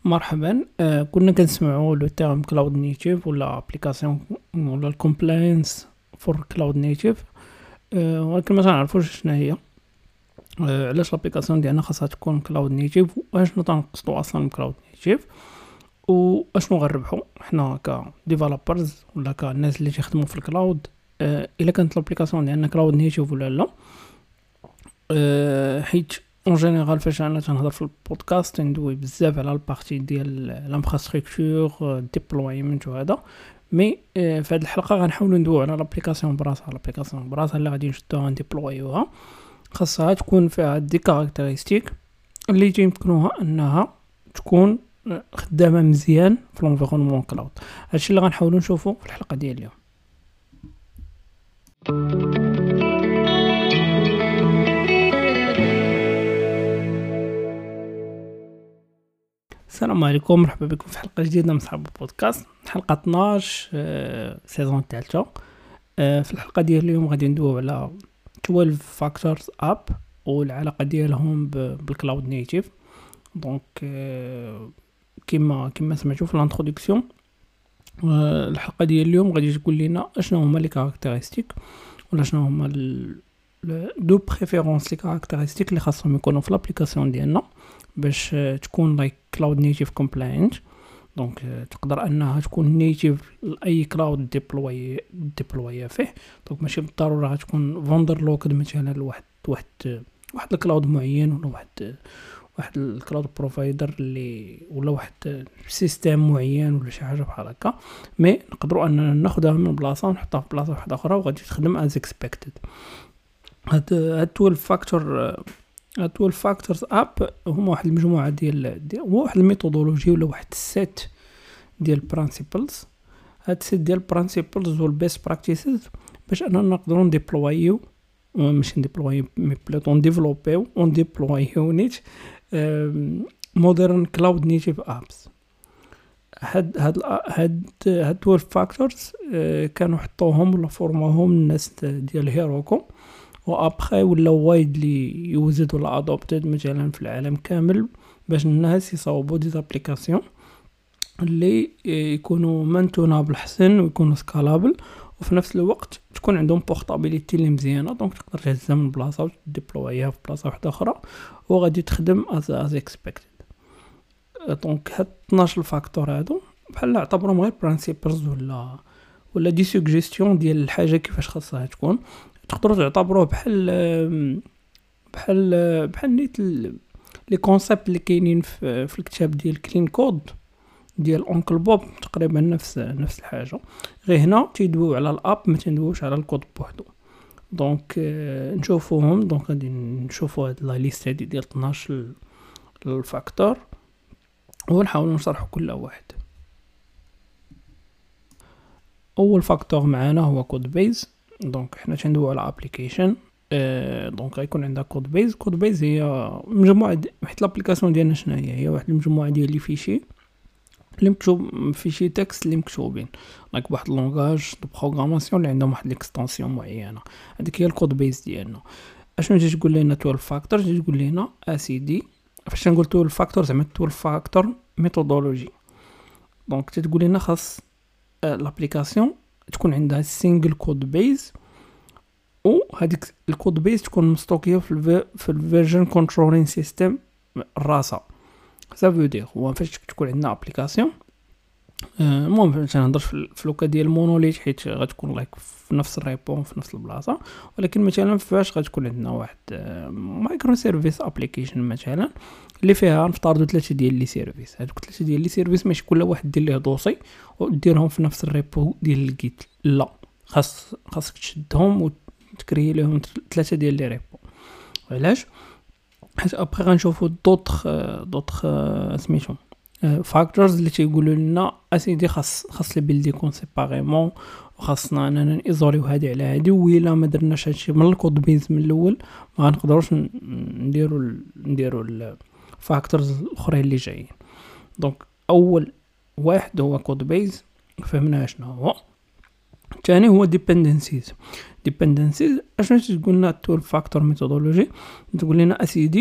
مرحبا. كنا كنسمعوا لو تيرم كلاود نيتيف ولا ابليكاسيون ولا الكومبلاينس فور كلاود نيتيف، ولكن ما تنعرفوش شنو هي. علاش الابليكاسيون ديالنا خاصها تكون كلاود نيتيف، واشنو تنقصدوا اصلا بكلاود نيتيف، واشنو غنربحوا حنا كديفلوبرز ولا كالناس اللي تيخدموا في الكلاود الا كانت الابليكاسيون ديالنا كلاود نيتيف ولا لا. حيت اون جينيرال فاش انا تنهضر في البودكاست ندوي بزاف على البارتي ديال لانفراستركتور ديبلويمنت وهذا، مي في هذه الحلقه غنحاولوا ندويو على الابليكاسيون براسها اللي غادي نشدوها نديبلويوها. خاصها تكون فيها دي كاركتيرستيك اللي يمكنوها انها تكون خدامه مزيان في الانفيرونمون كلاود. هادشي اللي غنحاولوا نشوفوا في الحلقه ديال اليوم. السلام عليكم، مرحبا بكم في حلقه جديده من صحاب البودكاست، حلقه 12 سيزون الثالثه. في الحلقه ديال اليوم غادي ندويو على 12 فاكتورز اب والعلاقه ديالهم بالكلاود نيتيف. دونك كما سمعتوا في الانتروداكسيون، الحلقه ديال اليوم غادي تقول لنا اشنو هما لي كاركتيرستيك ولا شنو هما دو بريفيرونس لي كاركتيرستيك اللي خاصهم يكونوا في الابليكاسيون ديالنا باش تكون لايك كلاود نيتيف كومبلاينت. دونك تقدر انها تكون نيتيف لاي كلاود ديبلوي فيه. دونك ماشي بالضروره غتكون فوندر لوكد مثلا لواحد الكلاود معين ولا واحد الكلاود بروفايدر اللي ولا واحد سيستم معين ولا شي حاجه بحال هكا، مي نقدروا اننا ناخذها من بلاصه ونحطها في بلاصه واحده اخرى وغادي تخدم از اكسبكتد. هاد 12 فاكتورز اب هما واحد المجموعه ديال واحد الميثودولوجي ولا واحد السيت ديال برينسيبلز. هاد السيت ديال برينسيبلز والبيست براكتيسز باش اننا نقدروا نديبلويو، ماشي نديبلويو مي بلوتو نديفلوبيو ونديبلويو نيت مودرن كلاود نيتيف ابس. هاد 12 فاكتورز كانوا حطوهم ولا فورموهم الناس ديال هيروكو، وابخي ولا وايدلي يوزد ولا ادوبتد مثلا في العالم كامل باش الناس يصاوبوا دي ابليكاسيون اللي يكونوا مانتونا بالحسن ويكونوا سكالابل، وفي نفس الوقت تكون عندهم بورتابيليتي اللي مزيانه. دونك تقدر تهزها من بلاصه وتديبلويها في بلاصه واحده اخرى وغادي تخدم از اكسبكتد. دونك هاد 12 فاكتور هادو بحال اعتبرهم غير برينسيبلز ولا دي سوجيستيون ديال الحاجه كيفاش خاصها تكون. تقدروا تعتبروه بحال نيت لي كونسيبت اللي كاينين في الكتاب ديال كلين كود ديال اونكل بوب، تقريبا نفس الحاجه، غير هنا تيدويو على الاب ما تندويوش على الكود بوحدو. دونك نشوفوهم. دونك غادي نشوفوا هاد لا ليست هادي ديال 12 الفاكتور ونحاولوا نشرحوا كل واحد. اول فاكتور معانا هو كود بيز. دونك حنا تندويو على ابليكيشن، دونك غيكون عندها كود بيز هي مجموعه حيت الابليكاسيون ديالنا شنو هي واحد المجموعه ديال لي فيشي اللي مكتوب فيشي تكست اللي مكتوبين لايك واحد لونغاج دو بروغراماسيون اللي عندهم واحد ليكستنسيون معينه. هذيك هي الكود بيز ديالنا. اشنو تجي تقول لنا 12 فاكتور؟ تجي تقول لنا اسيدي فاش نقول 12 فاكتور زعما 12 فاكتور ميثودولوجي. دونك تتقول لنا خاص الابليكاسيون تكون عندها سينجل كود بيز، وهذيك الكود بيز تكون مستوكيه في الفيرجن كنترولين سيستم راسها. سافو دير هو فاش تكون عندنا ابليكاسيون، المهم باش نهضر في لوكا ديال مونوليت حيت غتكون لايك في نفس الريبون في نفس البلاصه، ولكن مثلا فاش غتكون عندنا واحد مايكرو سيرفيس ابليكيشن مثلا اللي فيها نفترضوا 3 ديال لي سيرفيس. هذوك 3 ديال لي سيرفيس ماشي كل واحد دير ليه دوسي وديرهم في نفس الريبو ديال الجيت، لا خاصك تشدهم وتكري لهم 3 ديال لي ريبو. علاش؟ حيت ابري غنشوفوا دوطخ سميتهم فاكتورز اللي تيقولوا لنا اسيدي خاص لي بيلدي كون سيباريمون، وخاصنا اننا نيزوليو هادي على هادي، وإلا ما درناش هادشي من الكود بيز من الاول ما غنقدروش نديروا الفاكتورز الاخرين اللي جايين. دونك اول واحد هو كود بيز، فهمنا شنو هو. الثاني هو ديبندنسيز. اشنو تقول لنا 12 فاكتور ميثودولوجي؟ تقول لنا اسيدي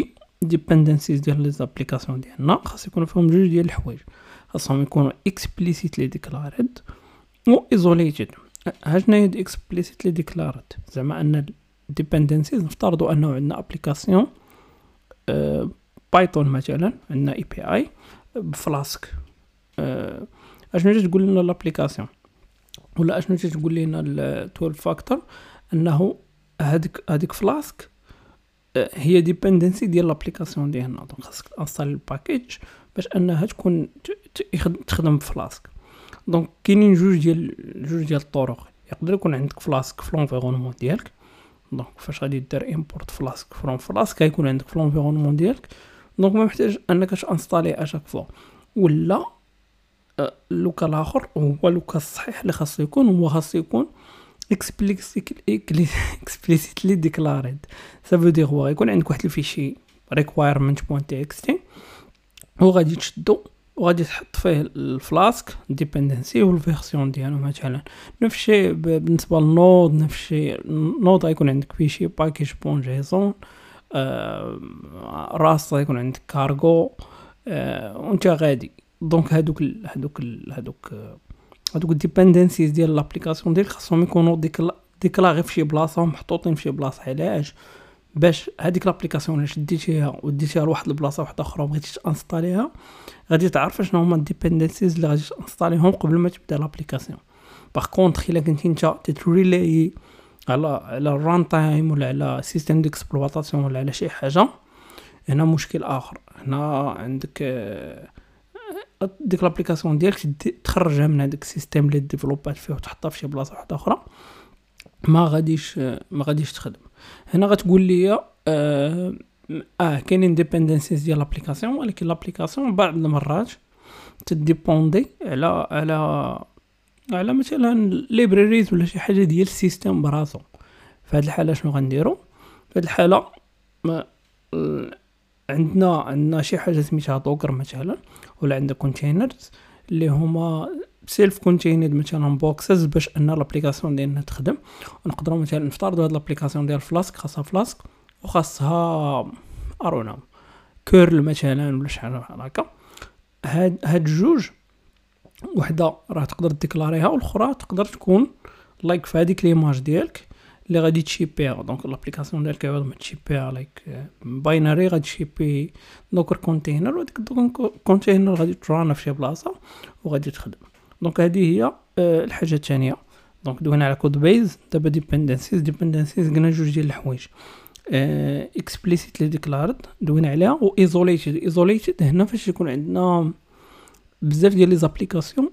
ديبندنسيز ديال لي زابليكاسيون ديالنا خاص يكونوا فيهم جوج ديال الحوايج، خاصهم يكونوا اكسبليسيتلي ديكلاريد و ايزوليتد. ها شنو هي اكسبليسيتلي ديكلاريد؟ زعما ان الديبندنسيز نفترضوا انه عندنا ابليكاسيون بايثون مثلا، عندنا اي بي اي بفلاسك. اشنو تقول لنا الابليكاسيون ولا اشنو تقول لنا ال12 فاكتور؟ انه هذيك فلاسك هي ديبندنسي ديال لابليكاسيون ديالنا. دونك خاصك تانستالي الباكيج باش انها تكون تخدم بفلاسك. دونك كاينين جوج ديال الطرق. يقدر يكون عندك فلاسك في لونفيرونمون ديالك، دونك فاش غادي دير امبورت فلاسك فروم فلاسك غيكون عندك في لونفيرونمون ديالك، دونك ما محتاج انك تانستالي اشاك فوا. ولا اللوكا الاخر هو اللوكا الصحيح اللي خاصو يكون، هو خاصو يكون explicitly declared. ça veut dire هو يكون عندك واحد الفيشي requirement.txt وغادي تشدو وغادي تحط فيه الفلاسك ديبندنسي والفيرسيون ديالو. مثلا نفس الشيء بالنسبه للنود، نفس الشيء النود غيكون عندك فيشي package.json، راس غيكون عندك كارغو، وانت غادي. دونك هادوك الديبندنسيز ديال لابليكاسيون ديالك خاصهم يكونوا ديكلاغي في شي بلاصه، محطوطين في شي بلاصه. علاش؟ باش هذيك لابليكاسيون اللي شديتيها وديتيها لواحد البلاصه واحده اخرى وبغيتي تانستاليها، غادي تعرف شنو هما الديبندنسيز اللي غادي تانستاليهم قبل ما تبدا لابليكاسيون. باغ كونطخ الا كنتي انت تتريلاي على الران تايم ولا على سيستم ديكسبلواتاسيون ولا على شي حاجه، هنا مشكل اخر. هنا عندك ديك لابليكاسيون ديالك تخرجها من هذاك السيستم اللي ديفلوبات فيه وتحطها في شي بلاصه واحده اخرى، ما غاديش تخدم. هنا غتقول لي كاينين ديبندنسيز ديال لابليكاسيون، ولكن لابليكاسيون بعض المرات تديبوندي على مثلا ليبراريز ولا شي حاجه ديال السيستم براسو. في هذه الحاله شنو غنديروا؟ في هذه الحاله عندنا شي حاجه سميتها دوكر مثلا، ولا عندنا كونتينرز اللي هما سيلف كونتيند مثلا بوكسز باش ان لابليكاسيون ديالنا تخدم. ونقدروا مثلا نفترضوا هاد لابليكاسيون ديال فلاسك خاصها فلاسك وخاصها ارونا كيرل مثلا ولا شي حاجه بحال هكا. هاد جوج، وحده راه تقدر ديكلاريها والاخرى تقدر تكون لايك في هذيك ليماج ديالك اللي غادي تشيبيها. دونك لابليكاسيون ديالك عوض ما تشيبيها لايك باينري غادي تشيبي دوكر كونتينر، وديك الدوكر كونتينر غادي ترانا في شي بلاصه وغادي تخدم. دونك هذه هي الحاجه الثانيه. دونك دوينا على كود بيز. دابا ديبندنسيز قلنا جوج ديال الحوايج، اكسبليسيتلي ديكلارد دوينا عليها، و ايزوليتد هنا فاش يكون عندنا بزاف ديال لي زابليكاسيون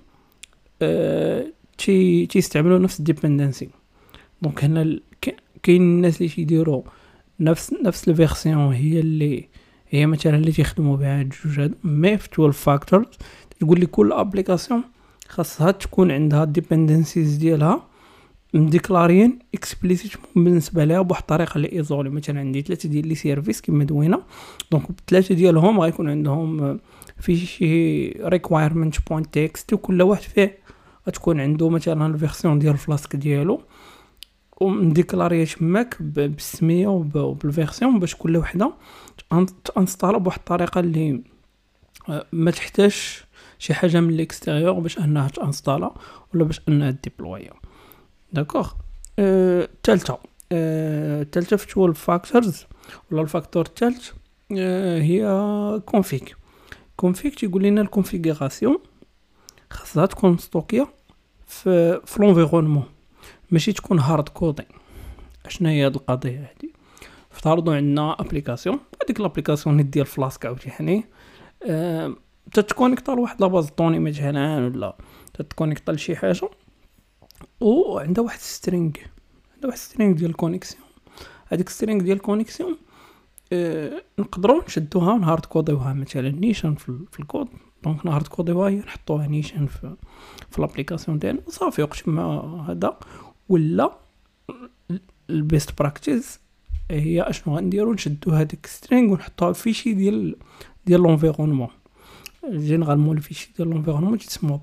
تيستعملوا نفس الديبندنسي. دونك هنا كاين الناس اللي تيديروا نفس الفيرسيون هي مثلا اللي تيخدموا بها الجوج هادو. مي في 12 فاكتورز تقول لي كل ابليكاسيون خاصها تكون عندها الديبندنسيز ديالها مديكلاريين اكسبليسيت بالنسبه لها بواحد الطريقه اللي ايزولي. مثلا عندي 3 ديال لي سيرفيس كما دوينا، دونك ب3 ديالهم غيكون عندهم في شي requirement.txt وكل واحد فيه غتكون عنده مثلا الفيرسيون ديال الفلاسك ديالو ومديكلاريه تماك بالسميه وبالفيرسيون باش كل وحده تانستالا بواحد الطريقه اللي ما تحتاجش شي حاجه من الاكستيريور باش انها تانستالا ولا باش انها ديبلويا. داكوغ. الثالثه في 12 فاكتورز ولا الفاكتور الثالث هي كونفيك تيقول لنا الكونفيغوراسيون خاصها تكون ستوكيه في لونفيرونمون، ماشي تكون هارد كودين. اشنا هي هاد القضيه هادي؟ افترضوا عندنا ابليكاسيون، هذيك الابليكاسيون ديال فلاسك عاوتاني تتكونيكطا لواحد لاباز طوني مثلا، ولا تتكونيكطا لشي حاجه وعندها واحد سترينغ ديال الكونيكسيون. هذيك سترينغ ديال الكونيكسيون نقدروا نشدوها ونهارد كوديوها مثلا نيشان في الكود. دونك نهارد كوديوها نحطوها نيشان في الابليكاسيون ديالنا صافي. وقت ما هذا ولا البيست براكتيس هي اشنو غنديروا؟ نشدو هذيك سترينغ ونحطوها في شي ديال لونفيرونمون. جينيرالمون الفيشي ديال لونفيرونمون تسمى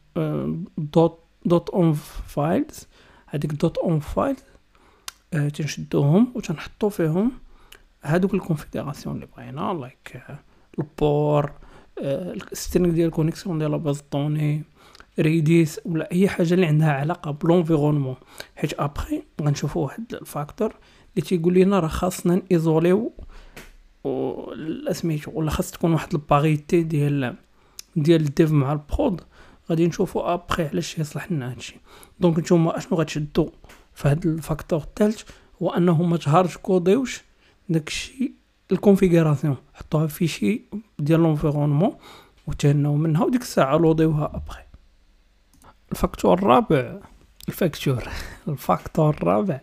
دوت اون فايلز. هذيك دوت اون فايل تنشدوهم وتنحطو فيهم هادوك الكونفيغوراسيون اللي بغينا لايك البور السترينغ ديال الكونيكسيون ديال لاباز دوني ريديس ولا اي حاجه اللي عندها علاقه بلونفيرونمون، حيت ابري غنشوفوا واحد الفاكتور اللي تيقول لنا راه خاصنا نيزوليو سميتو، ولا خاص تكون واحد الباريتي ديال الديف مع البرود. غادي نشوفوا ابري علاش يصلح لنا هادشي. دونك نتوما اشنو غتشدوا في هذا الفاكتور الثالث هو انه ما تهارش كوديوش داكشي الكونفيغوراسيون، حطوها في شي ديال لونفيرونمون وتهناو منها وديك الساعه لوديوها ابري. الفاكتور الرابع الفاكتور الرابع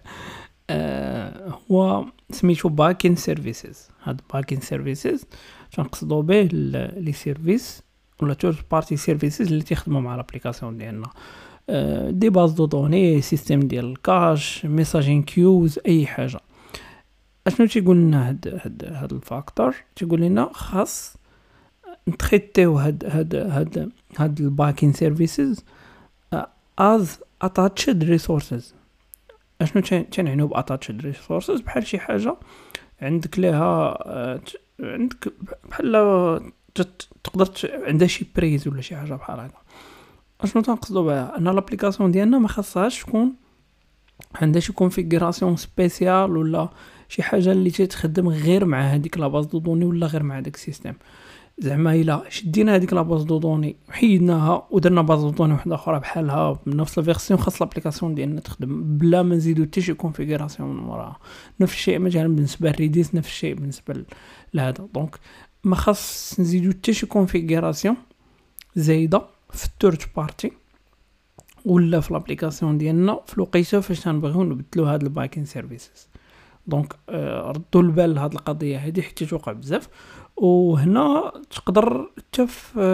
هو سميتو باكين سيرفيسز. هاد باكين سيرفيسز تنقصدو به لي سيرفيس ولا ثيرد بارتي سيرفيسز اللي تيخدموا مع الابليكاسيون ديالنا، دي باز دو دوني، سيستيم ديال الكاش، ميساجين كيوز، اي حاجه. اشنو تيقول لنا هاد الفاكتور؟ تيقول لنا خاص نتريتيو هاد الباكين سيرفيسز از اتاتشد ريسورسز. اشنو تنعنيو باتاتشد ريسورسز؟ بحال شي حاجه عندك ليها عندك بحال تقدر عندها شي بريز ولا شي حاجه بحال هكا. اشنو تنقصدو بها؟ ان لابليكاسيون ديالنا ما خاصهاش تكون عندها شي كونفيغوراسيون سبيسيال ولا شي حاجه اللي تخدم غير مع هذيك لا باز دو دوني ولا غير مع داك السيستم. زعما الا شدينا هذيك لا باز دو دوني وحيدناها ودرنا باز دو دوني واحده اخرى بحالها بنفس الفيرسيون، خاص لابليكاسيون ديالنا تخدم بلا ما نزيدو حتى شي كونفيغوراسيون من وراها. نفس الشيء مثلا بالنسبه للريديس، نفس الشيء بالنسبه لهذا. دونك ما خاص نزيدو حتى شي كونفيغوراسيون زايده في الثيرد بارتي ولا في لابليكاسيون ديالنا في الوقيته فاش تنبغيو نبدلو هاد الباكين سيرفيسز. دونك ردوا البال لهاد القضيه هذه حتى توقع بزاف. وهنا تقدر حتى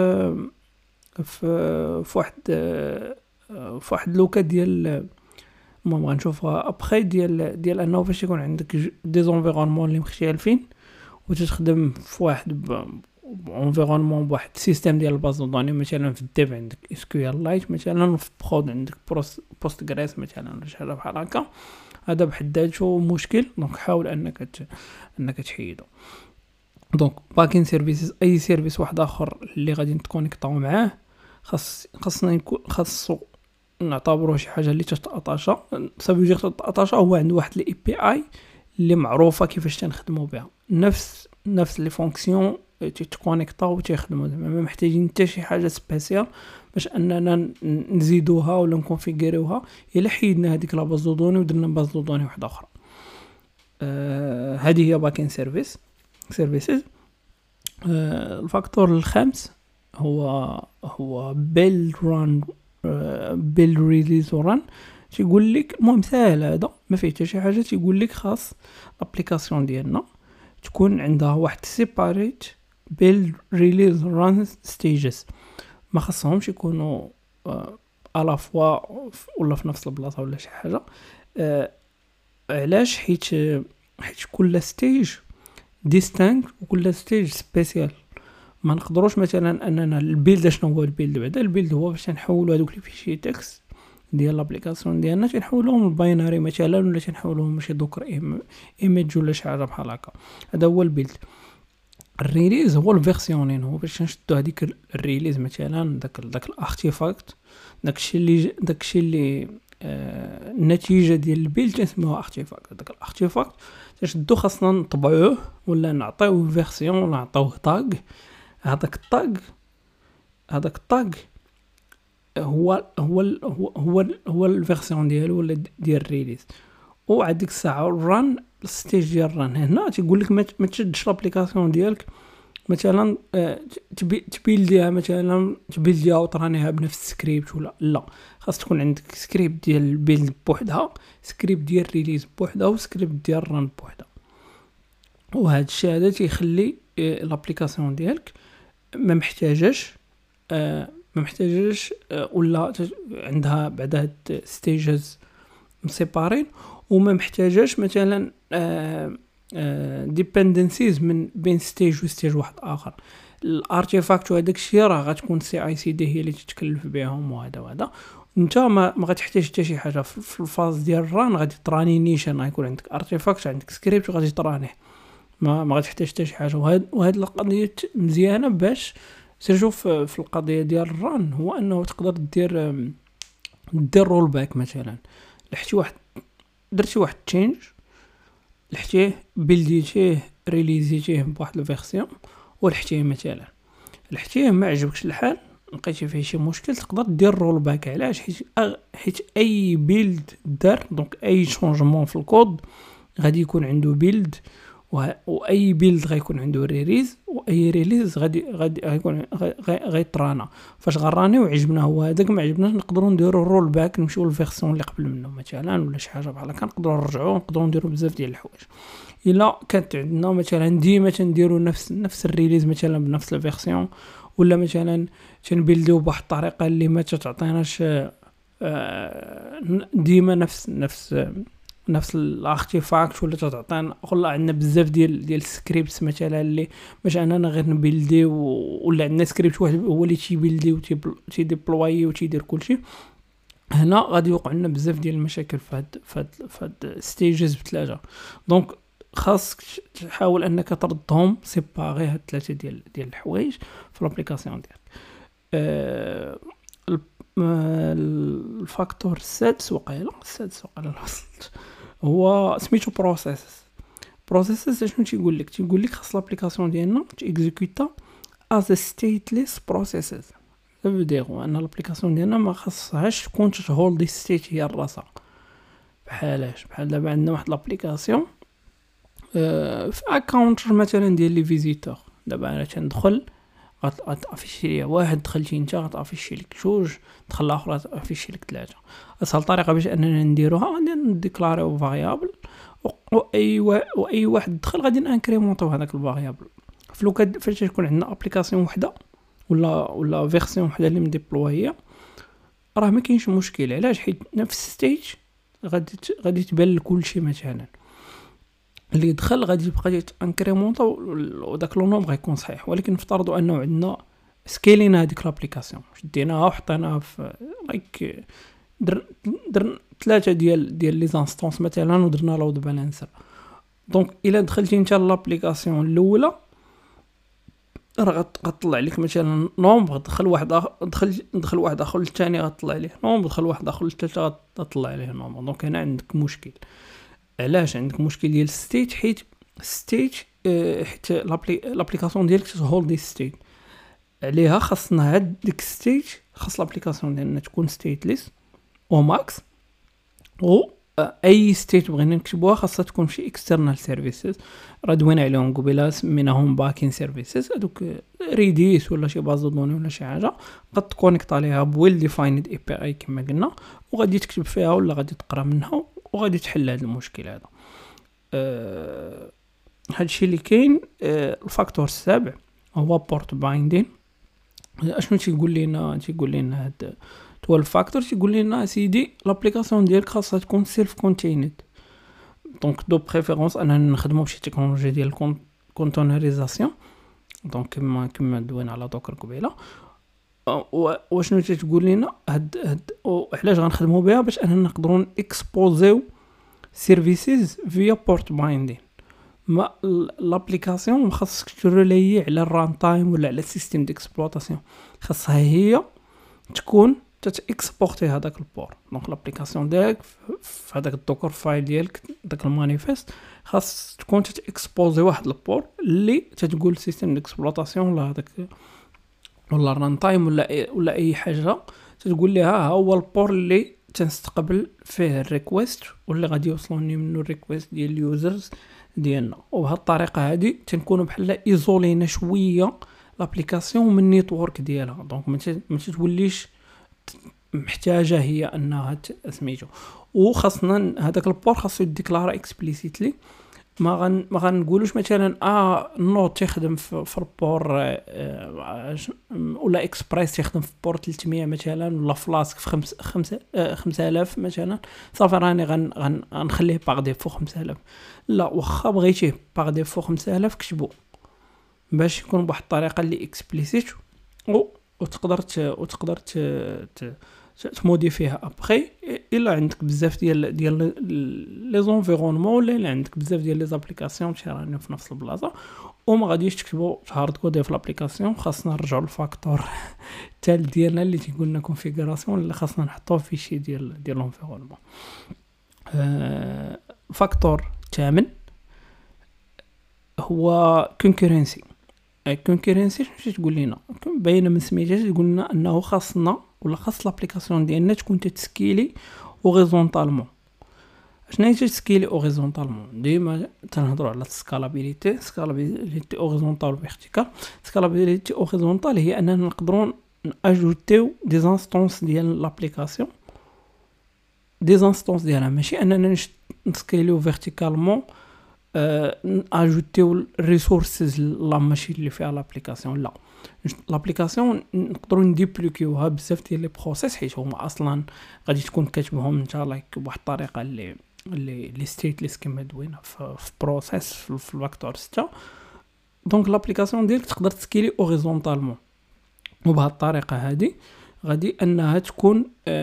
في واحد لوكا ديال المهم غنشوفها ابخي ديال انه فاش يكون عندك دي زونفيرونمون اللي مختلفين وتخدم في واحد انفيرونمون بواحد السيستم ديال الباز دوني، مثلا في الديف عندك اس كيو ال لايت، مثلا في برود عندك بوست جريس مثلا شي حاجه بحال هكا. هذا بحد ذاته مشكل، دونك حاول انك تحيدو. دونك باكين سيرفيسز اي سيرفيس واحد اخر اللي غادي نتكونيكطاو معاه خاصو نعتبروه شي حاجه اللي تتاتاشا. سافو دير تتاتاشا هو عنده واحد الاي بي اي اللي معروفه كيفاش تنخدموا بها، نفس لي فونكسيون تيتكونيكطاو وتيخدموا. ما محتاجين حتى شي حاجه سبيسيال باش اننا نزيدوها ولا نكونفيغوريوها الا حيدنا هذيك لا باز دو دوني ودرنا باز دو دوني واحده اخرى. هذه هي باكين سيرفيسز. الفاكتور الخامس هو بيلد ريليز وران. تيقول لك المهم ساهل، هذا ما فيه حتى شي حاجه. تيقول لك خاص الابليكاسيون ديالنا تكون عندها واحد سيباريت بيلد ريليز ران ستيجز، ما خاصهمش يكونوا على فوا ولا في نفس البلاصه ولا شي حاجه. علاش؟ حيت كل ستيج ديستانك وكل ستيج سبيسيال. ما نقدروش مثلا اننا البيلد، شنو هو البيلد؟ بعدا البيلد هو باش نحولوا هذوك اللي فيشي تكست ديال لابليكاسيون ديالنا تنحولوهم لباينري مثلا، ولا تنحولوهم شي دوكر ايميج ولا شي حاجه بحال هكا. هذا هو البيلد. الريليز هو الفيرسيونين، هو باش نشدو هذيك الريليز مثلا داك الارتيفاكت، داكشي اللي النتيجه ديال البيلد تسموها ارتيفاكت. داك الارتيفاكت تشدو خاصنا نطبعوه ولا نعطيوه فيرسيون ولا نعطيوه تاغ. هذاك التاغ هو الفيرسيون ديالو ولا ديال الريليز. وعندك الساعه الران الستيج ديال الران. هنا تيقول لك ما تشدش لابليكاسيون ديالك مثلا تبيلديها مثلا تبيلديها وترانيها بنفس السكريبت ولا لا. خاص تكون عندك سكريبت ديال البيلد بوحدها، سكريبت ديال الريليز بوحدها، وسكريبت ديال الران بوحدها. وهذا الشيء هذا تيخلي لابليكاسيون ديالك ما محتاجش ولا عندها بعد هاد ستيجز مسيبارين، وما محتاجاش مثلا ديبندنسيز من بين ستيج وستيج واحد اخر. الارتيفاكت وهداك الشيء راه غتكون سي اي سي دي هي اللي تتكلف بهم، وهذا انت ما غتحتاج حتى شي حاجه. في الفاز ديال الران غادي تراني نيشان، غيكون عندك ارتيفاكت، عندك سكريبت وغادي ترانيه. ما غتحتاج حتى شي حاجه. وهاد القضيه مزيانه باش سيرجو في القضيه ديال الران، هو انه تقدر دير رول باك مثلا. درتي واحد تشينج، لحتيه بلديتيه ريليزيتيه بواحد الفيرسيون ولحتيه مثلا، لحتيه ما عجبكش الحال، لقيتي فيه شي مشكل، تقدر دير رول باك. علاش؟ حيت اي بيلد دار دونك اي شونجمون في الكود غادي يكون عنده بيلد، واي بيلد غيكون عنده ريليز، واي ريليز غادي غيكون غيطرانا. فاش غراني وعجبنا هو هذاك، ما عجبناش نقدروا نديروا رول باك نمشيو للفيرسيون اللي قبل منه مثلا، ولا شي حاجه بحال هكا نقدروا نرجعوا، نقدروا نديروا بزاف ديال الحوايج. الا كانت عندنا مثلا ديما تنديروا نفس الريليز مثلا بنفس الفيرسيون، ولا مثلا تنبيلديو بواحد الطريقه اللي ما تعطيناش ديما نفس الارتيفاكت، ولا تعطينا والله عندنا بزاف ديال السكريبتس مثلا اللي باش اننا غير نبيلدي، ولا عندنا سكريبت واحد هو اللي تيبيلدي وتيديبلوي وتيدير كلشي. هنا غادي يوقع لنا بزاف ديال المشاكل في هاد ستيجز بثلاثه. دونك خاصك تحاول انك تردهم سيباري هاد ثلاثه ديال الحوايج في الابليكاسيون ديالك. الفاكتور السادس وقيلا وصلت، هو سميتو بروسيسز. شنو تيقول لك خاص الابليكاسيون ديالنا تيكزيكوتا از ستيتليس بروسيسز. بديرو ان الابليكاسيون ديالنا ما خاصهاش تكون تهولد ستيت هي راسها. بحال دابا عندنا واحد الابليكاسيون في اكونت مثلا ديال لي فيزيتور. دابا انا تندخل غتافيشي ليا واحد، دخلتي انت غتافيشي لك جوج، دخل الاخر غتافيشي لك ثلاثه. اسهل طريقه باش اننا نديروها غادي نديكلاريو فاريابل، واي واحد دخل غادي نانكريمونطيو هذاك الفاريابل. فاش تكون عندنا ابليكاسيون وحده ولا فيرسيون وحده اللي مديبلويه، راه ما كاينش مشكل. علاش؟ حيت نفس ستيج غادي تبان لكلشي مثلا اللي دخل غادي يبقى انكريمونطا، وداك لو نومبر غيكون صحيح. ولكن نفترضوا انه عندنا سكيلينا هذيك لابليكاسيون، شديناها وحطيناها في لايك درنا ثلاثه ديال لي زانستونس مثلا، ودرنا لود بالانسر. دونك الا دخلتي انت لابليكاسيون الاولى راه غتطلع لك مثلا نومبر، دخل واحد اخر الثاني غتطلع ليه نومبر، دخل واحد اخر الثالث غتطلع ليه نومبر. دونك هنا عندك مشكل. علاش عندك مشكل ديال ستيت؟ حيت لابليكاسيون ديالك تهولد ستيت عليها. خاصنا هاد ديك ستيت، خاص لابليكاسيون ديالنا تكون ستيتليس او ماكس، و اي ستيت بغينا نكتبوها خاصها تكون شي اكسترنال سيرفيسز. راه دوينا عليهم قبيله، سميناهم باكين سيرفيسز. هذوك ريديس ولا شي باز دوني ولا شي حاجه قد تكونيكط عليها بويل ديفايند اي بي اي كما قلنا، وغادي تكتب فيها ولا غادي تقرا منها وغادي تحل هذا المشكل هذا. هادشي اللي كاين. الفاكتور السابع هو بورت بايندين. اشنو تيقول لنا هاد 12 فاكتور؟ تيقول لنا سيدي لابليكاسيون ديالك خاصها تكون سيلف كونتيند. دونك دو بريفيرونس اننا نخدموا بشي تكنولوجيا ديال كونتينريزاسيون، دونك كما دوينا على دوكر قبيله. واشنو تتقول لنا هاد علاش غنخدموا بها؟ باش اننا نقدروا اكسبوزيو سيرفيسز فيا بورت بايندين. ما لابليكاسيون ما خاصك تريلي على الران تايم ولا على السيستم ديكسبلوطاسيون، خاصها هي تكون تاكسبورتي هذاك البور. دونك لابليكاسيون ديالك في هذاك الدوكر فايل ديالك، داك المانيفيست، خاص تكون تاكسبوزي واحد البور اللي تتقول السيستم ديكسبلوطاسيون ولا هذاك ولا الران تايم ولا اي حاجه، تتقول لها ها هو البور اللي تنستقبل فيه الريكويست واللي غادي يوصلوني منه الريكويست ديال اليوزرز ديالنا. وبهذه الطريقه هذه تنكونوا بحال ايزولينا شويه لابليكاسيون من النيتورك ديالها. دونك ما توليش محتاجه هي انها سميتو. وخاصنا هذاك البور خاصو يديكلارا اكسبليسيتلي. ما غنقولوش مثلا نوت تخدم في البور ولا اكسبريس تخدم في بور 300 مثلا، ولا فلاسك في 5000 مثلا، صافي راني غنخليه باغ ديفو 5000. لا، واخا بغيتيه باغ ديفو 5000 كتبو باش يكون بواحد الطريقه اللي اكسبليسيت، وتقدر تموديفيها ابخي. الا عندك بزاف ديال لي زونفيرونمون ولا عندك بزاف ديال لي زابليكاسيون شارين في نفس البلاصه وما غاديش تكتبوا هارد كود في الابليكاسيون، خاصنا نرجعوا للفاكتور الثالث ديالنا اللي تيقول لنا كونفيغوراسيون اللي خاصنا نحطوه في شي ديال لونفيرونمون. الفاكتور الثامن هو كونكورنسي. الكونكورنسي شنو تقول لنا؟ باينه من سميتها تقول لنا انه خاصنا ولا خاص لابليكاسيون ديالنا تكون تتسكيلي اوريزونطالمون. شنو هي تتسكيلي اوريزونطالمون؟ ديما تنهضروا على السكالابيليتي اوريزونطال وفيرتيكال. سكالابيليتي اوريزونطال هي اننا نقدروا ناجوتيو دي انستانس ديال لابليكاسيون، دي انستانس ديالها، ماشي اننا نسكيليو فيرتيكالمون اجوتيو الريسورسز لا ماشي اللي فيها لابليكاسيون. لا، لابليكاسيون نقدروا نديبلوكيوها بزاف ديال لي بروسيس حيت هما اصلا غادي تكون كاتبهم انت لايك بواحد الطريقه اللي ستيتليس كما دوينا في بروسيس في الفاكتور 6. دونك لابليكاسيون ديالك تقدر تسكيلي اوريزونطالمون، وبهذه الطريقه هذه غادي انها تكون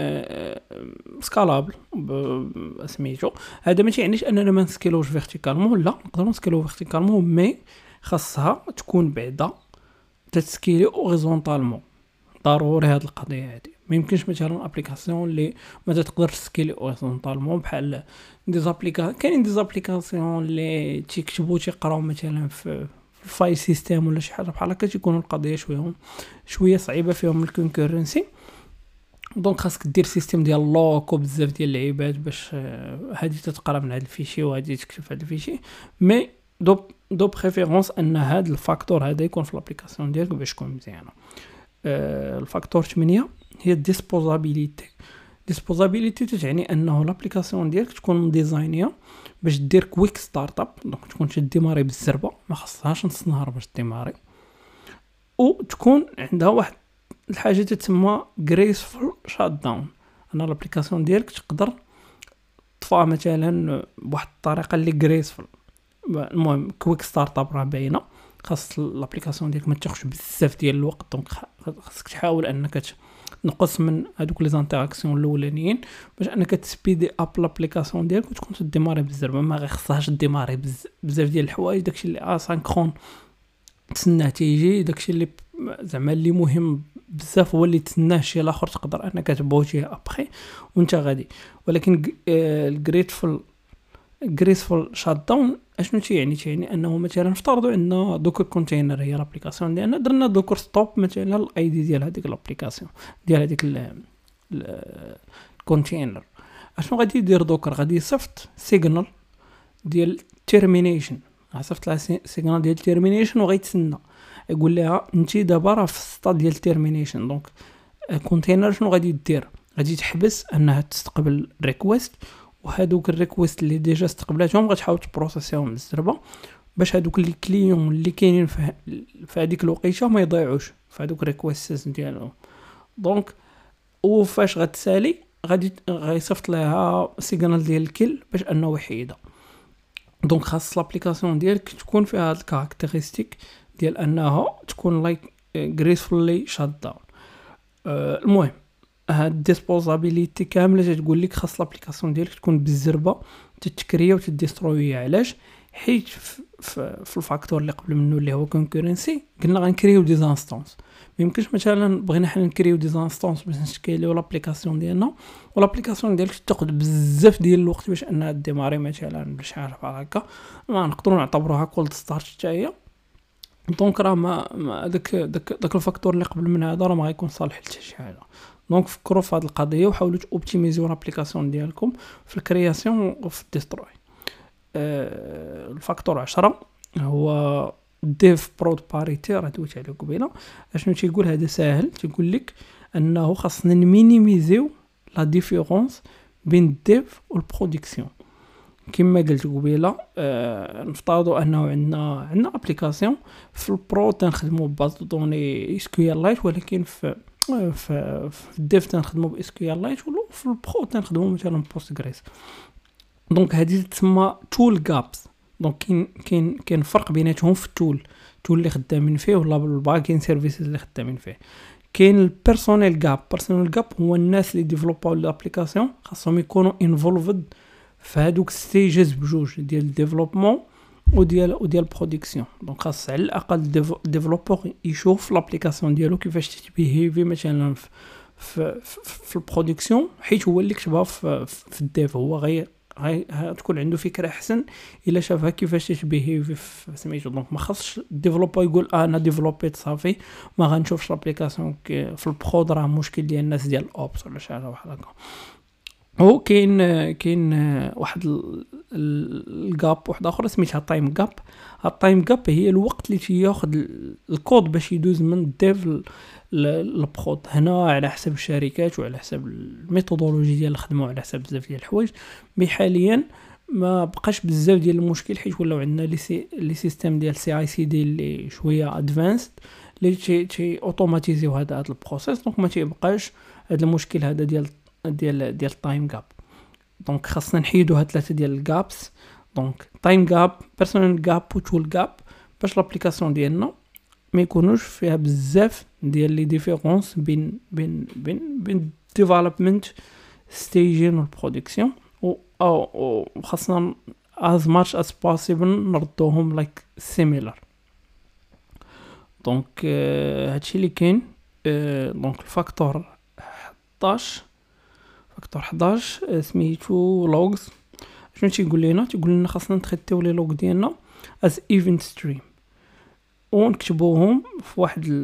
سكالابل سميتو. هذا ماشي يعنيش اننا ما نسكيلوش فيرتيكالمون، لا نقدروا نسكيلو فيرتيكالمون مي خاصها تكون بعدا تسكيلي اوريزونطالمون. ضروري هذه القضيه هذه. ما يمكنش مثلا ابليكاسيون اللي ما تقدرش تسكيلي اوريزونطالمون بحال دي زابليكاسيون. كاينين دي زابليكاسيون اللي تيكتبوا تيقراو مثلا في الفايل سيستم ولا شي حاجه بحال هكا، تيكونوا القضيه شويه صعيبه فيهم الكونكورنسي. دونك خاصك دير سيستم ديال لوك وبزاف ديال اللعيبات باش هذه تتقرا من هذا الفيشي وهذه تكتب هذا الفيشي. مي دو بريفيرونس ان هذا الفاكتور هذا يكون في الابليكاسيون ديالك باش تكون مزيانه. الفاكتور 8 هي الديسبوزابيليتي. ديسبوزابيليتي تعني انه لابليكاسيون ديالك تكون مديزاينيه باش دير كويك ستارت اب، دونك تكون تديماري بالزربه، ما خصهاش نص نهار باش ديماري، وتكون عندها واحد الحاجه تسمى جريسفول شات داون. انا لابليكاسيون ديالك تقدر تطفى مثلا بواحد الطريقه اللي جريسفول. المهم كويك ستارت اب راه باينه، خاص لابليكاسيون ديالك ما تاخذش بزاف ديال الوقت، دونك خاصك تحاول انك تنقص من هذوك لي زانتراكسيون الاولانيين باش انك تسبيدي اب لابليكاسيون ديالك وتكون تديماري بالزربه. ما غير خصهاش ديماري بزاف ديال الحوايج، داكشي اللي اسانكرون تسناه تيجي، داكشي اللي زعما اللي مهم بزاف هو اللي تسناه شي الاخر تقدر انك تبوتيه ابخي وانت غادي. ولكن الجريسفول شات داون اشنو تيعني انه مثلا افترضوا عندنا دوكر كونتينر هي لابليكاسيون ديالنا، درنا دوكر ستوب مثلا الاي دي ديال هذيك لابليكاسيون ديال هذيك الكونتينر. اشنو غادي يدير دوكر؟ غادي يصيفط سيجنال ديال تيرمينيشن، صيفط لها سيجنال ديال تيرمينيشن وغيتسنى يقول لها انت دابا راه في السطاد ديال تيرمينيشن. دونك الكونتينر شنو غادي دير؟ غادي تحبس انها تستقبل ريكويست، وهادوك الريكويست اللي ديجا استقبلاتهم غتحاول تبروسيسيهم بالزربه باش هادوك لي كليون اللي كاينين في هذيك الوقيته ما يضيعوش في هادوك الريكويست ديالهم. دونك وفاش غتسالي غادي غيصيفط لها سيجنال ديال الكل باش انه يحيدها. دونك خاص لابليكاسيون ديالك تكون فيها هاد الكاركتيرستيك ديال انها تكون لايك جريسفولي شات داون. المهم هاد الديسبوزابيليتي كامله تقول لك خاص لابليكاسيون ديالك تكون بالزربه تتكريا وتديسترويا. علاش؟ حيت في الفاكتور اللي قبل منه اللي هو كونكورنسي قلنا غنكريو دي زانستانس. ما يمكنش مثلا بغينا حنا نكريو دي زانستانس باش نشكيليو لابليكاسيون ديالنا والابليكاسيون ديالك تاخذ بزاف ديال الوقت باش انها ديماري مثلا بشي حاجه بحال هكا، ما نقدروا نعتبروها كولد ستارت حتى هي. دونك راه ما داك الفاكتور اللي قبل من هذا راه ما غيكون صالح لحتى شي حاجه. دونك فكروا في هذه القضيه وحاولوا اوبتيميزيو لابليكاسيون ديالكم في الكرياسيون وفي الديستروي. الفاكتور 10 هو ديف برود باريتي، راه دويت عليه قبيله. اشنو تيقول؟ هذا ساهل، تيقول لك انه خاصنا نمينيميزيو لا ديفيرونس بين الديف والبرودكسيون. كما قلت قبيله نفترضوا انه عندنا ابليكاسيون في البرو تنخدموا باز دوني اس كيو ال لايت، ولكن في الديف تنخدموا باس كيو ال لايت، ولا في البرو تنخدموا مثلا بوستغريس. دونك هذه تسمى تول جابس. دونك كاين فرق بيناتهم في التول اللي خدامين فيه ولا الباكين سيرفيسز اللي خدامين فيه. كاين البيرسونيل جاب هو الناس اللي ديفلوباو لابليكاسيون خاصهم يكونوا انفولفد في هذوك ستيجز بجوج ديال الديفلوبمون وديال برودكسيون. دونك خاص على الاقل ديفلوبور يشوف لابليكاسيون ديالو كيفاش تبيهيفي مثلا في البرودكسيون، حيت هو اللي كتبها في الديف، هو غير تكون عنده فكره احسن الا شافها كيفاش تبيهيفي في سميتو. دونك ما خاصش الديفلوبر يقول انا ديفلوبيت صافي ما غنشوفش لابليكاسيون في البرود، راه مشكل ديال الناس ديال الاوبس ولا شي حاجه بحال هكا. هو كاين واحد الجاب واحد اخر سميتها تايم جاب. التايم جاب هي الوقت اللي تياخذ الكود باش يدوز من الديف للبرود. هنا على حسب الشركات وعلى حسب الميثودولوجي ديال الخدمه وعلى حسب بزاف ديال الحوايج. حاليا ما بقاش بزاف ديال المشكل، حيت ولاو عندنا لي سيستيم ديال سي اي سي دي اللي شويه ادفانسد اللي تي اوتوماتيزيو هذا البروسيس. دونك ما تيبقاش هذا المشكل هذا ديال التايم جاب. دونك خاصنا نحيدو هاد ثلاثه ديال الجابس، دونك تايم جاب، بيرسونال جاب وتول جاب، باش لابليكاسيون ديالنا ما يكونوش فيها بزاف ديال لي ديفيرونس بين ديفلوبمنت ستيجين والبرودكسيون، او خاصنا as much as possible نردوهم like similar. دونك هادشي اللي كاين. دونك الفاكتور 11 سميتو لوغز. شنو تيقول لنا خاصنا نتريتيو لي لوغ ديالنا as event stream ونكتبوهم في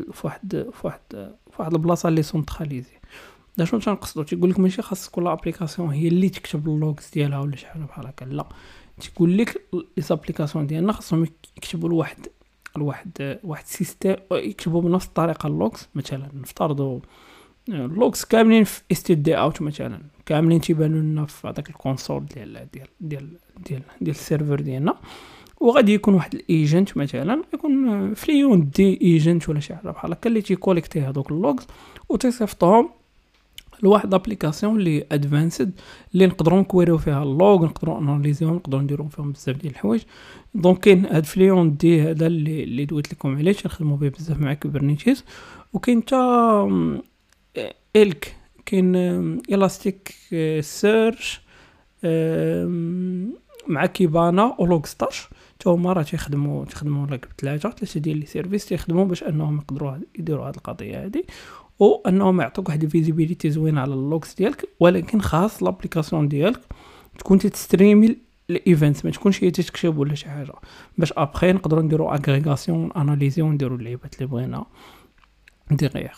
واحد البلاصه اللي سونتراليزي. دا شنو تنقصدو؟ تيقول لك ماشي خاص كل ابليكاسيون هي اللي تكتب اللوغز ديالها ولا شي حاجه بحال هكا، لا، تيقول لك لي ابليكاسيون ديالنا خاصهم يكتبوا لواحد سيستم، يكتبوا بنفس الطريقه اللوغز. مثلا نفترضوا اللوغز كاملين في std out مثلا، كاملين تيبانوا لنا في هذاك الكونسول ديال السيرفر ديالنا، وغادي يكون واحد الايجنت مثلا يكون فليون دي ايجنت ولا شي حاجه بحال هكا اللي تيكوليكتي هذوك اللوغز وتيصيفطهم لواحد ابليكاسيون اللي ادفانسد اللي نقدروا نكويريو فيها اللوغ، نقدروا اناليزيهم، نقدروا نديروا فيهم بزاف ديال الحوايج. دونك كاين هاد فليون دي هذا اللي دويت لكم عليه، تنخدموا به بزاف مع كوبرنيتيس. وكاين تا الك، كاين الاستيك سيرش مع كيبانا ولوغ ستاش، تا هما راه تيخدموا لك ثلاثه ديال لي سيرفيس تيخدموا باش انهم يقدروا يديروا هذه القضيه هذه، او انهم يعطوك واحد الفيزيبيليتي زوينه على اللوغز ديالك. ولكن خاص لابليكاسيون ديالك تكون تستريمي الايفنتس، ما تكونش هي تكتب ولا شي حاجه، باش ابخي نقدروا نديروا اغريغاسيون اناليزي ونديروا اللعيبات اللي بغينا ديغيغ.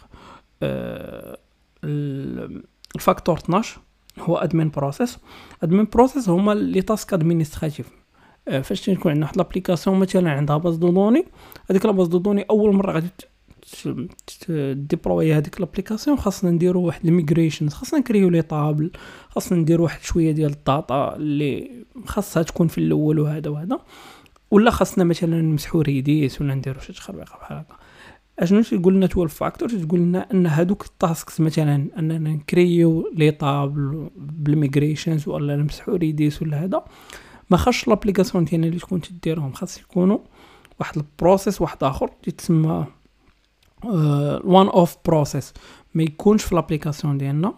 الفاكتور 12 هو ادمين بروسيس هما لي تاسك ادمينستراتيف. فاش تكون عندنا واحد لابليكاسيون مثلا عندها باز دو دوني، هذيك لا باز دو دوني اول مره غادي ديبلوي هذيك لابليكاسيون، خاصنا نديروا واحد الميغريشن، خاصنا نكريو لي طابل، خاصنا نديروا واحد شويه ديال الداتا اللي خاصها تكون في الاول وهذا، ولا خاصنا مثلا نمسحوا ريديس ولا نديروا شي تخربيقه بحال هكا. اشنو تيقول لنا 12 فاكتور؟ تقول لنا ان هذوك التاسكس مثلا اننا نكريو لي طابل بالميغريشنز ولا نمسحوا ريديس ولا هذا، ما خاصش لابليكاسيون ديالنا اللي تكون تديرهم، خاص يكونوا واحد البروسيس واحد اخر يتسمى وان اوف بروسيس، ما يكونش في لابليكاسيون ديالنا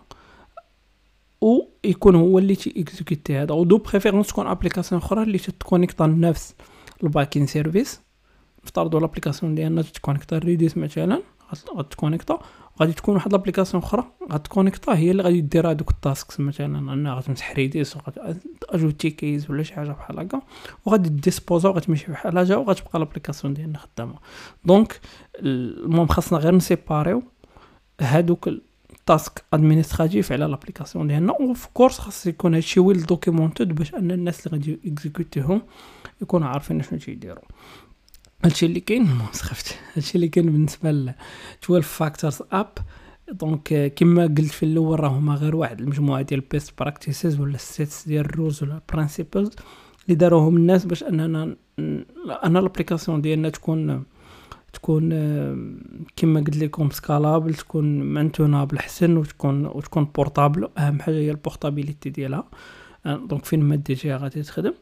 ويكون هو اللي تيكزيكوتي هذا، ودو بريفيرونس تكون ابليكاسيون اخرى اللي تكونيكطا لنفس الباكين سيرفيس. نفترضوا لابليكاسيون ديالنا تكونيكطا ريديس مثلا، غتكونيكطا، غادي تكون واحد لابليكاسيون اخرى غتكونيكطا هي اللي غادي دير هذوك التاسكس، مثلا انها غتمسح ريديس وغتاجوتي كيز ولا شي حاجه بحال هكا، وغادي ديسبوزا وغتمشي بحال حاجه وغتبقى لابليكاسيون ديالنا خدامه. دونك المهم خاصنا غير نسيباريو هذوك التاسك ادمينستراتيف على لابليكاسيون ديالنا، وفي كورس خاص يكون هادشي ويل دوكيمونتد باش ان الناس اللي غادي اكزيكوتيهم يكونوا عارفين شنو تيديروا. هادشي اللي كاين هادشي اللي كاين بالنسبه ل 12 فاكتورز اب. دونك كما قلت في الاول راه هما غير واحد المجموعه ديال بيست براكتيسز ولا سيتس ديال الرولز ولا برينسيبلز اللي داروهم الناس باش اننا لابليكاسيون ديالنا تكون كما قلت لكم سكالابل، تكون مانتونابل حسن، وتكون بورطابل. اهم حاجه هي البورطابيليتي ديالها، دونك فين ما ديتيها غادي تخدم.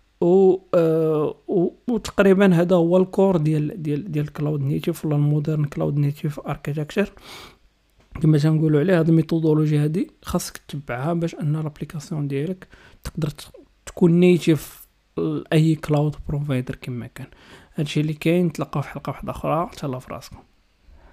وتقريبا هذا هو الكور ديال كلاود نيتيف ولا المودرن كلاود نيتيف اركيتكتشر. كما تنقولوا عليه هاد الميثودولوجي هادي خاصك تتبعها باش ان لابليكاسيون ديالك تقدر تكون نيتيف لاي كلاود بروفايدر كما كان. هادشي اللي كاين، نتلاقاو في حلقه واحده اخرى، تهلاو في راسكم.